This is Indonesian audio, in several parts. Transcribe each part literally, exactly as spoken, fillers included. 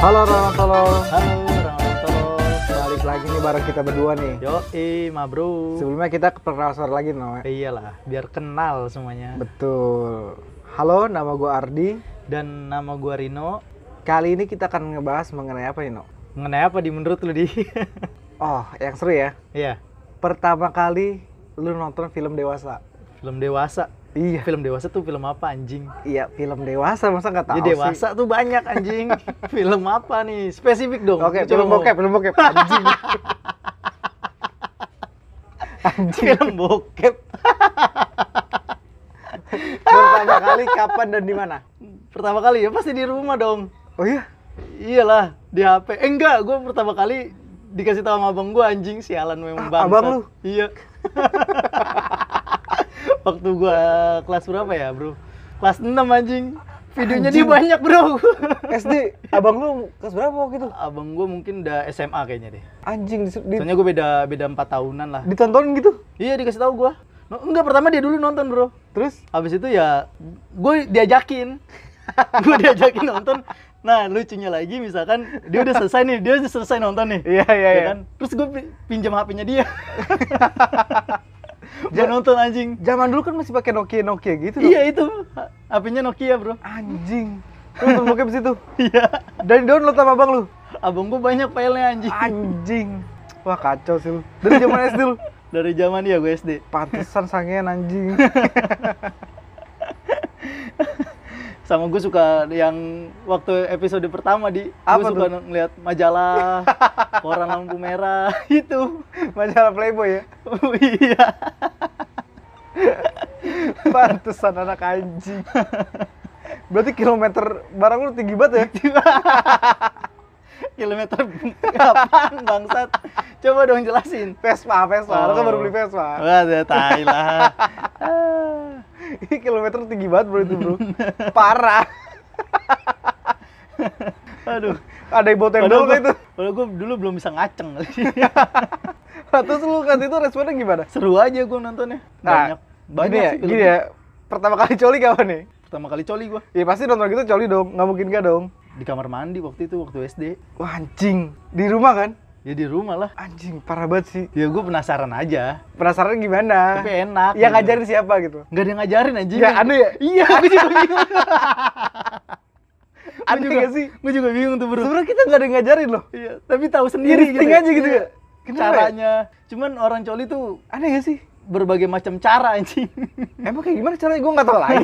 Halo Ronotolo. Halo Ronotolo. Balik lagi nih bareng kita berdua nih. Yoi, ma bro. Sebelumnya kita perkenalan suara lagi no. Iyalah, biar kenal semuanya. Betul. Halo, nama gue Ardi. Dan nama gua Rino. Kali ini kita akan ngebahas mengenai apa nih no? Mengenai apa di menurut lu di? Oh, yang seru ya. Iya. Pertama kali lu nonton film dewasa. Film dewasa. Iya. Film dewasa tuh film apa anjing? Iya, film dewasa masa nggak tahu Ya dewasa sih. tuh banyak anjing. Film apa nih? Spesifik dong. Oke, Coba film mau. bokep, film bokep. Anjing. Anjing. Film bokep. Pertama kali kapan dan di mana? Pertama kali ya pasti di rumah dong. Oh iya? Iyalah, di H P. Eh enggak, gua pertama kali dikasih tahu sama abang gua anjing, sialan memang Ah, bangsat. abang lu? Iya. Waktu gua kelas berapa ya, Bro? Kelas enam anjing. Videonya dia Anjing. banyak, Bro. S D, abang lu kelas berapa waktu itu? Abang gua mungkin udah S M A kayaknya deh. Anjing, di, di, Soalnya gua beda beda empat tahunan lah. ditontonin gitu? Iya, dikasih tahu gua. No, enggak, pertama dia dulu nonton, Bro. Terus? Habis itu ya gue diajakin. Gue diajakin nonton. Nah, lucunya lagi misalkan dia udah selesai nih, dia udah selesai nonton nih. Iya, iya, Ya iya. kan? Terus gue pi- pinjam H P-nya dia. Gue nonton anjing. Zaman dulu kan masih pakai Nokia Nokia gitu. Iya itu. H P-nya Nokia, Bro. Anjing. Lu nonton bokep situ. Iya. Dan download sama abang lu. Abang gue banyak filenya anjing. Anjing. Wah, kacau sih lu. Dari zaman S D lu. Dari zaman dia gue S D. Pantesan sangean anjing. Sama gue suka yang waktu episode pertama di Apa gue suka tuh? ngeliat majalah koran lampu merah itu. Majalah Playboy ya. Oh, iya. Pantesan anak anjing. Berarti kilometer barang lu tinggi banget ya? Kilometer apaan bangsat? Coba dong jelasin. Vespa, Vespa. Lu kan Oh. baru beli Vespa. Wah, ya tai lah. Ini kilometer tinggi banget bro itu bro. Parah. Aduh. Ada yang bawa tembok Padahal nggak itu? gua, padahal gue dulu belum bisa ngaceng. Terus lu kan itu responnya gimana? Seru aja gue nontonnya. Banyak. Banyak gini ya, sih gini filmnya. ya. Pertama kali coli kapan nih? Pertama kali coli gue. Ya pasti nonton gitu coli dong, nggak mungkin gak dong. Di kamar mandi waktu itu, waktu S D. Wah anjing, di rumah kan? Ya di rumah lah. Anjing, parah banget sih. Ya gue penasaran aja. Penasaran gimana? Tapi enak. Yang gitu. ngajarin siapa gitu? Nggak ada yang ngajarin anjing. Ya aneh ya? Iya, gue juga bingung. Aneh Gua juga, gak sih? Gue juga bingung tuh bro. Sebenarnya kita nggak ada yang ngajarin loh. Iya, tapi tahu Iya, sendiri insting aja gitu Iya. ya? Kenapa ya? Caranya. Cuman orang coli tuh Aneh gak sih? berbagai macam cara anjing. Emang kayak gimana caranya? Gue nggak tahu lagi.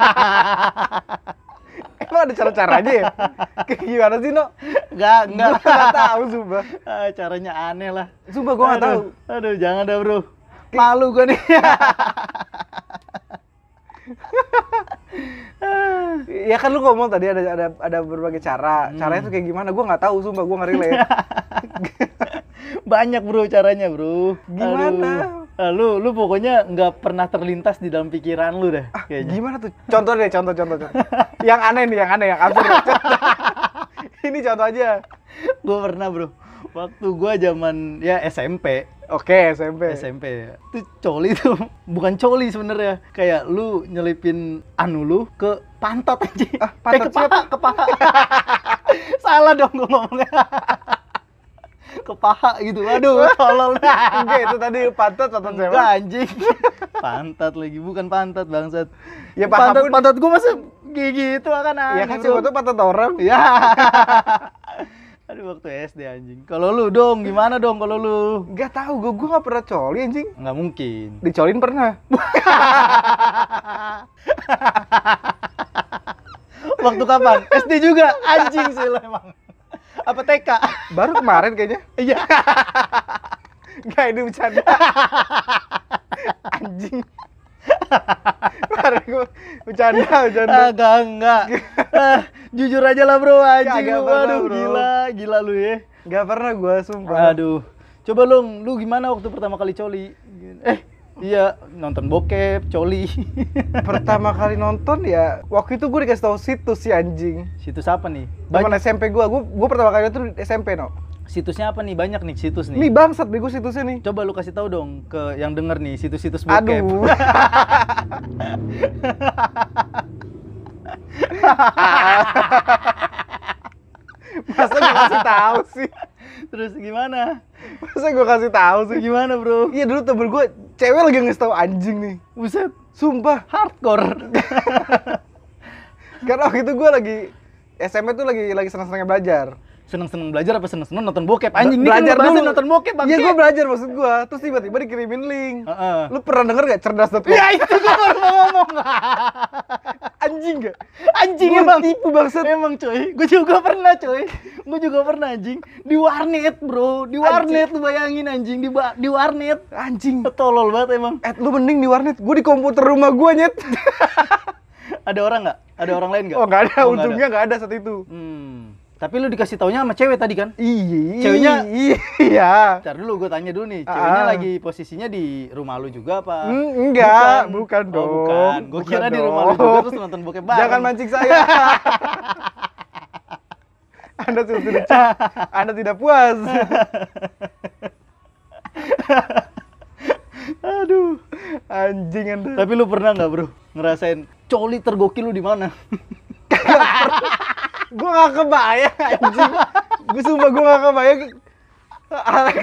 Emang ada cara-caranya ya? Kayak gimana sih, No? Enggak, enggak. Gue nggak tahu, sumpah. Ah, caranya aneh lah. Sumpah gue nggak tahu. Aduh, Aduh, jangan dah bro. Malu gue nih. Ya kan lu ngomong tadi ada ada ada berbagai cara. Caranya tuh kayak gimana? Gue nggak tahu, sumpah gue nggak relate. Banyak bro caranya bro. Gimana? Aduh. Ah, lu lu pokoknya nggak pernah terlintas di dalam pikiran lu dah. Ah, Kayaknya. gimana tuh? Contoh deh, contoh, contoh, contoh. Yang aneh nih, yang aneh, yang absurd. Contoh. Ini contoh aja. Gue pernah bro. Waktu gue zaman ya S M P. Oke, S M P. S M P ya. Itu coli tuh bukan coli sebenarnya. Kayak lu nyelipin anu lu ke pantat aja. Ah, pantat eh, ke paha, ke paha. Salah dong gue ngomongnya. Ke paha gitu. Aduh, tolol. Enggak, itu tadi pantat, pantat Enggak siapa? anjing. Pantat lagi, bukan pantat bangsat. Ya, paha pantat pun- pantat gue masa gigi itu kan aneh. Ya kan bro. siapa tuh pantat orang. Ya. Aduh waktu S D anjing. Kalau lu dong, gimana dong kalau lu? Gak tahu, gue gue nggak pernah coli anjing. Nggak mungkin. Dicolin pernah. Waktu kapan? S D juga anjing sih lu emang. Apa T K? Baru kemarin kayaknya. Iya. Gak, ini bercanda. Anjing. Kemarin gue bercanda, bercanda. Agak enggak. Ah, jujur aja lah bro anjing. Kagak Lu. pernah, Aduh bro. gila, gila lu ya. Gak pernah gue, sumpah. Aduh. Coba lu, lu gimana waktu pertama kali coli? Eh, iya nonton bokep, coli. Pertama kali nonton ya, waktu itu gue dikasih tahu situs si anjing. Situs apa nih? Temen Banyak. S M P gue, gue, gue pertama kali itu S M P, no. Situsnya apa nih? Banyak nih situs Nih nih. bangsat bego situsnya nih. Coba lu kasih tahu dong ke yang denger nih situs-situs bokep. Aduh. Masa Terus gimana? Masa gue kasih tahu sih? Gimana, Bro? Iya dulu temen gue cewek lagi ngasih tahu anjing nih. Buset, Sumpah. hardcore. Karena waktu itu gue lagi S M P tuh lagi lagi senang-senangnya belajar. Seneng-seneng belajar apa seneng-seneng nonton bokep? Anjing nih kan Belajar lu bahasnya dulu. nonton bokep, bangke. Iya gue belajar maksud gue. Terus tiba-tiba dikirimin link. Heeh. Lu pernah denger gak cerdas dot com? Ya itu gua baru mau ngomong. Anjing gak? Anjing Gua emang. tipu bangsat. Emang coy, gue juga pernah coy. Gue juga pernah anjing. Di warnet, Bro. Di warnet lu bayangin anjing di ba- di warnet. Anjing. Tolol banget emang. Eh lu mending di warnet. Gue di komputer rumah gue nyet. Ada orang nggak? Ada orang lain nggak? Oh nggak ada. Oh, nggak Untungnya nggak ada saat itu. Hmm. Tapi lu dikasih taunya sama cewek tadi kan? Iya. Ceweknya- Iya. Ntar dulu gue tanya dulu nih, ceweknya Ah. lagi posisinya di rumah lu juga apa? Hmm, enggak, bukan Oh, dong. bukan. Gue Bukan kira di rumah lu dong. juga terus nonton bokep bareng. Jangan mancing saya. Anda sudah tidak, Anda tidak puas. Aduh. Anjing Anda. Tapi lu pernah nggak, Bro, ngerasain coli tergokil lu di mana? Gue gak kebayang anjing. Gue sumpah gue gak kebayang. Alex,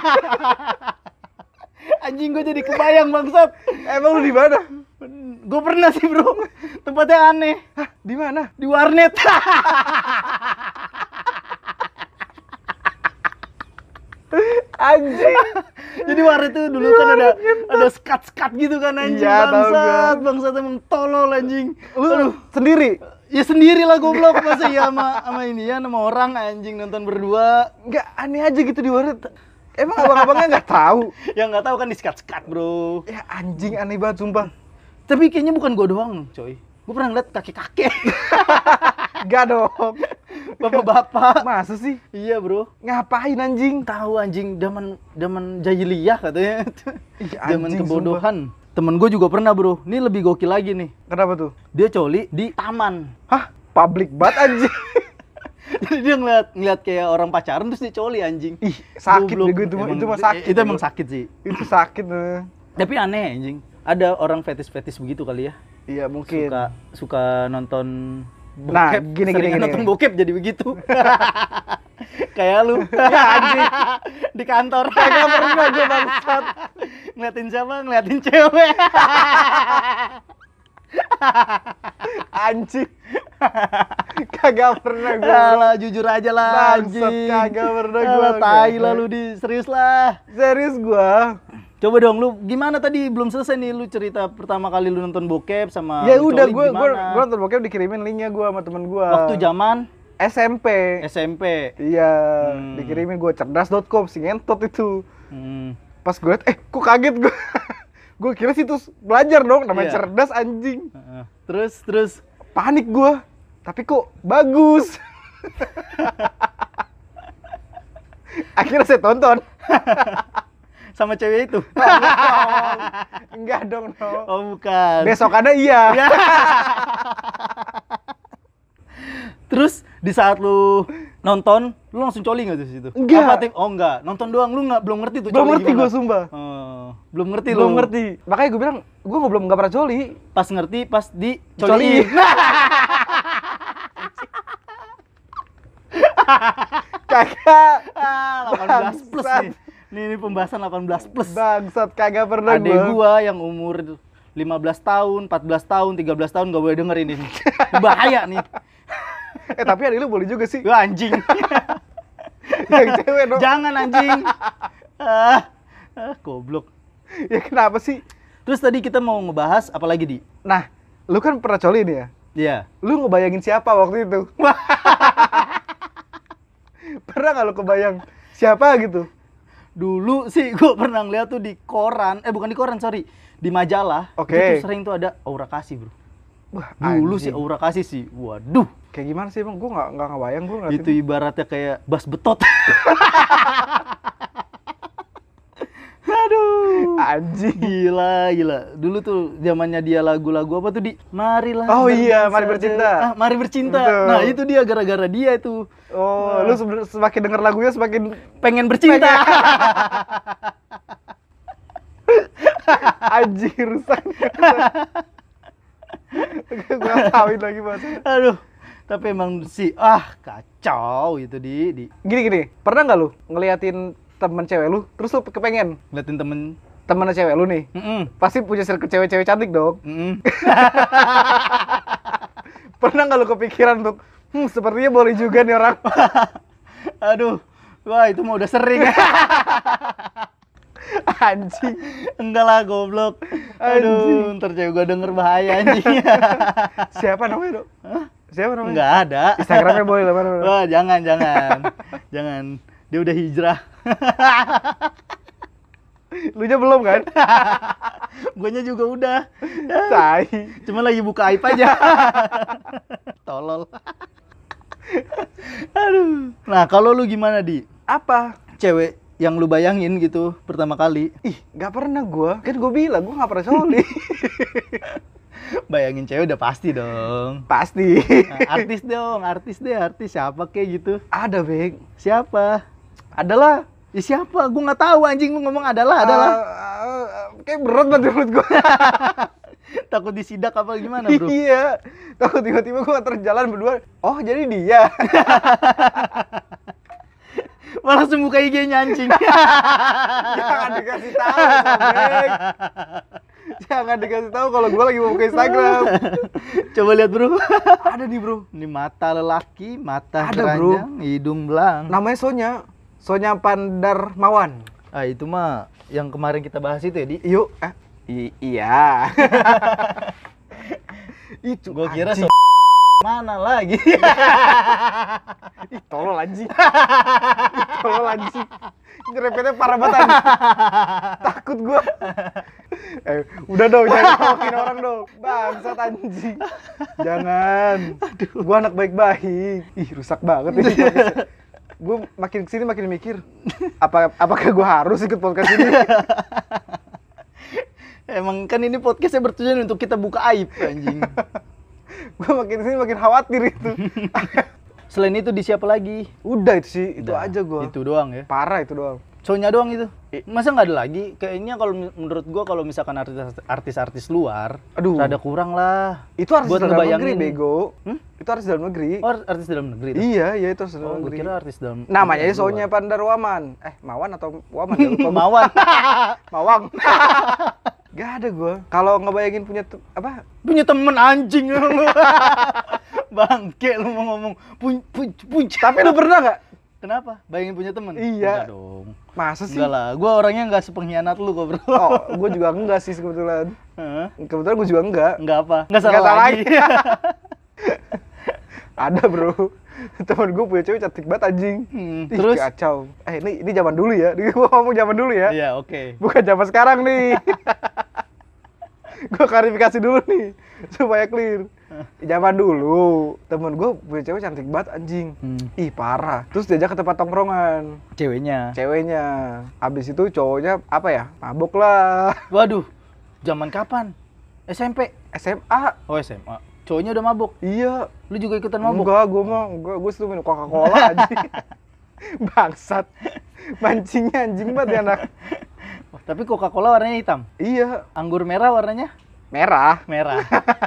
Anjing gue jadi kebayang bangsat. emang lu di mana? Gue pernah sih, Bro. Tempatnya aneh. Hah, di mana? Di warnet. Anjing. Jadi warnet itu dulu kan ada ada skat-skat gitu kan anjing. Iya, tahu bangsat, gua. bangsat emang tolol anjing. Lu Aduh. sendiri? Ya sendiri lah goblok, masa ya sama sama ini ya sama orang anjing nonton berdua. Enggak, aneh aja gitu di warnet. Emang abang-abangnya nggak tahu? Yang nggak tahu kan di skat-skat, Bro. Ya anjing aneh banget sumpah. Tapi kayaknya bukan gua doang, coy. Gua pernah ngeliat kakek-kakek, Enggak dong. bapak-bapak. Masa sih? Iya, Bro. Ngapain anjing? Tahu anjing zaman zaman jahiliyah katanya. Ih, Zaman anjing, kebodohan. Temen gue juga pernah, Bro. Ini lebih gokil lagi nih. Kenapa tuh? Dia coli di taman. Hah? Public banget anjing. Jadi dia ngeliat ngeliat kayak orang pacaran terus dia coli anjing. Ih, sakit Goblok. deh gue itu mah Emang- itu mah sakit. Itu emang sakit sih. Itu sakit. eh. Tapi aneh anjing. Ada orang fetis-fetis begitu kali ya. Iya, mungkin. Suka suka nonton bokep. Nah, gini, seringan gini, gini, nonton gini. bokep jadi begitu. Kayak lu. Ya anjing. Di kantor. Kagak pernah gue bangsat. Ngeliatin siapa? Ngeliatin cewek. Anjing. Kagak pernah gue. Alah, jujur aja lah Bangsat, anjing. kagak pernah gua. Alah, tai lah lu di serius lah. Serius gua. Coba dong lu gimana tadi belum selesai nih lu cerita pertama kali lu nonton bokep sama Ya lu udah coli gua gua gimana? gua nonton bokep dikirimin linknya gua sama temen gua. Waktu zaman S M P. S M P. Iya, Hmm. dikirimin gua cerdas dot com si ngentot itu. Hmm. Pas gue liat, eh kok kaget gua. Gua kira situs belajar dong, namanya Iya. cerdas anjing. Heeh. Terus terus Panik gua. Tapi kok bagus. Akhirnya saya tonton. sama cewek itu. Enggak dong, no. Oh bukan. Besokannya iya. Ya. Terus di saat lu nonton, lu langsung coli nggak tuh situ? Enggak. Apa, Tim? Oh enggak, nonton doang, lu nggak belum ngerti tuh. Belum coli ngerti gimana. gua sumpah. Oh, belum ngerti Belum lu. ngerti. Makanya gue bilang, gue belum nggak pernah coli. Pas ngerti, pas di Coli. coliin. Kagak. Ah, delapan belas plus Bangsat. nih. Nih, ini pembahasan delapan belas plus. Bangsat, kagak pernah Adek gua. gua yang umur lima belas tahun, empat belas tahun, tiga belas tahun gak boleh denger ini. nih. Bahaya nih. Eh tapi adik lu boleh juga sih. Gua anjing. Yang cewek dong. Jangan anjing. Ah, ah, goblok. Ya kenapa sih? Terus tadi kita mau ngebahas apa lagi, Di? Nah, lu kan pernah coli nih ya? Iya. Lu ngebayangin siapa waktu itu? Pernah nggak lu kebayang siapa gitu? Dulu sih gua pernah ngeliat tuh di koran, eh bukan di koran, sorry, di majalah. Oke. Itu tuh sering tuh ada aura kasih, Bro. Wah, Dulu sih anjing. aura kasih sih. Waduh, Kayak gimana sih emang? Gue nggak nggak ngebayang gue ngeliatin. itu ibaratnya kayak bas betot. Aduh. Anjing. Gila, gila. Dulu tuh zamannya dia lagu-lagu apa tuh, Di? Marilah. Oh iya, berdansa Mari Bercinta. de- Ah, Mari Bercinta. Betul. Nah, itu dia gara-gara dia itu Oh, lu sebe- semakin denger lagunya semakin pengen bercinta. anjing rusak. Gue kawin lagi bahasa. Aduh. Tapi emang si ah kacau itu di di Gini gini, pernah nggak lu ngeliatin temen cewek lu, terus lu kepengen ngeliatin temen. temennya cewek lu nih, Mm-mm. pasti punya circle cewek-cewek cantik dong. Mm-mm. Pernah nggak lu kepikiran untuk, hmm sepertinya boleh juga nih orang. Aduh, wah itu mah udah sering. Anjing. Enggak lah goblok. Aduh, ntar cewek gua denger bahaya anjing. Siapa namanya, Dok? Siapa namanya? Enggak ada. Instagramnya boleh lah, mana, mana. Wah, jangan, jangan. Jangan. Dia udah hijrah. Lu nya belum kan? Guanya juga udah. Tai. Cuma lagi buka aib aja. Tolol. Aduh. Nah, kalau lu gimana, Di? Apa? Cewek yang lu bayangin gitu pertama kali. Ih, nggak pernah gua. Kan gua bilang gua nggak pernah coli. Bayangin cewek udah pasti dong. Pasti. Nah, artis dong, artis deh, artis siapa kayak gitu. Ada, Beng. Siapa? Adalah. Ya siapa? Gua nggak tahu anjing, lu ngomong adalah, adalah. Uh, uh, kayak berat banget menurut gua. Takut disidak apa gimana, Bro? Iya. Takut tiba-tiba gua terjalan berdua. Oh, jadi dia. Malah langsung buka I G-nya anjing. Jangan dikasih tahu, Sobek. Jangan dikasih tahu kalau gua lagi mau buka Instagram. Coba lihat, Bro. Ada nih, Bro. Ini mata lelaki, mata Ada, Bro. keranjang, hidung belang. Namanya Sonya. Sonya Pandarmawan. Ah, itu mah yang kemarin kita bahas itu ya, Di. Yuk, eh. I- iya. Itu Gua kira anjing. so mana lagi. Ih, tolol anjing. Ih, tolol anjing. Nyerempetnya parah banget anjing. Takut gua. Eh, udah dong, jangan ngomongin orang dong. Bangsat anjing. Jangan. Aduh, gua anak baik-baik. Ih, rusak banget ini. Gua makin kesini makin mikir, apa apakah gua harus ikut podcast ini? Emang kan ini podcastnya bertujuan untuk kita buka aib, anjing. Gua makin kesini makin khawatir itu. Selain itu di siapa lagi? Udah itu sih, itu Udah, aja gua. Itu doang ya. Parah itu doang. Sonya doang itu. I- Masa nggak ada lagi? Kayaknya kalau mi- menurut gua kalau misalkan artis artis-artis luar, Aduh. rada kurang lah. Itu artis Buat dalam negeri, ngebayangin. bego. Hmm? Itu artis dalam negeri. Oh, artis dalam negeri. itu? Iya, iya itu artis Oh, dalam gua negeri. kira artis dalam. Namanya dalam Sonya luar. Pandarwaman. Eh, Mawan atau Waman ya? Lupa gua. Mawan. Mawang. Gak ada gua. Kalau ngebayangin punya te- apa? Punya temen anjing lu. Bangke lu mau ngomong pun pun pun. Tapi lu pernah nggak? Kenapa? Bayangin punya temen? Iya. Enggak dong. Masa sih? Enggak lah, gua orangnya enggak sepengkhianat lu kok, Bro. Oh, gua juga enggak sih kebetulan. Heeh. Kebetulan gua juga enggak. Enggak apa? Enggak salah, Nggak salah lagi. Ada, Bro. Temen gua punya cewek cantik banget anjing. Hmm, Ih, terus? kacau. Eh, ini ini zaman dulu ya. Ini gua ngomong zaman dulu ya. Iya, oke. Bukan zaman sekarang nih. Gua klarifikasi dulu nih supaya clear. Zaman dulu temen gua punya cewek cantik banget anjing. Hmm. Ih, parah. Terus diajak ke tempat tongkrongan. Ceweknya. Ceweknya. Abis itu cowoknya apa ya? Mabuk lah. Waduh. Zaman kapan? S M P. S M A. Oh, S M A. Cowoknya udah mabuk. Iya. Lu juga ikutan mabuk? Enggak, gua mah enggak, gua situ minum Coca-Cola anjing. Bangsat. Mancingnya anjing banget ya anak. Oh, tapi Coca-Cola warnanya hitam. Iya, Anggur merah warnanya merah. merah.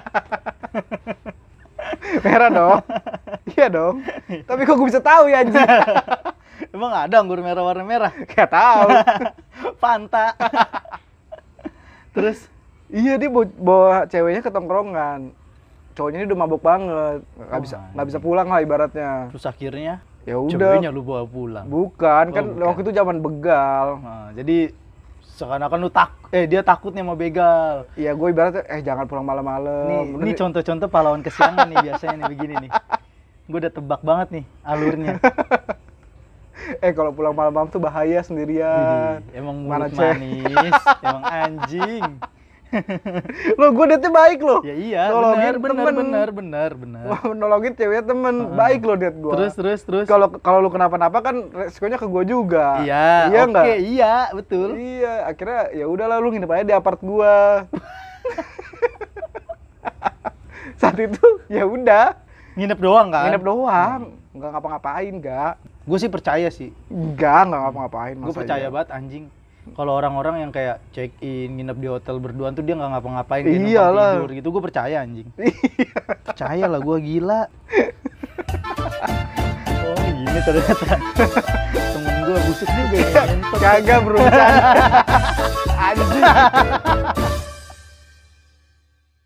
Merah dong. Iya dong. Tapi kok gua bisa tahu ya anjing? Emang ada anggur merah warna merah? Gak tahu. Fanta. Terus Iya, dia bawa, bawa ceweknya ke tongkrongan. Cowoknya ini udah mabuk banget. Nggak Oh, bisa anjing. nggak bisa pulang lah ibaratnya. terus akhirnya Ya udah. ceweknya lu bawa pulang. Bukan, kan Oh, bukan. waktu itu zaman begal. Nah, jadi seakan-akan lu tak eh dia takutnya mau begal. Iya, gue ibaratnya eh jangan pulang malam-malam. Nih, Bener ini nih. contoh-contoh pahlawan kesiangan nih biasanya nih begini nih. Gue udah tebak banget nih alurnya. Eh kalau pulang malam-malam tuh bahaya sendirian. Widih, emang Mana mulut cewek? manis, emang anjing. Lo gue niatnya baik loh. Ya iya, Nolongin benar, benar, temen. benar, benar, benar. Wah, nolongin ceweknya temen. Heeh. Baik loh niat gue. Terus, terus, terus. Kalau kalau lu kenapa-napa kan resikonya ke gue juga. Iya, iya oke, nggak? iya, betul. Iya, akhirnya ya udahlah lu nginep aja di apart gua. Saat itu ya udah, Nginep doang kan? nginep doang, nggak ngapa-ngapain, nggak. Gue sih percaya sih. Enggak, nggak ngapa-ngapain. Gue masa percaya iya. banget anjing. Kalau orang-orang yang kayak check in, nginep di hotel berduaan tuh dia nggak ngapa-ngapain, dia numpang Iyalah. tidur gitu, gue percaya anjing. Percaya lah gue, gila. ini ternyata temen gue busuk juga ya. Ngentot. Kagak bro, bercanda. Anjing.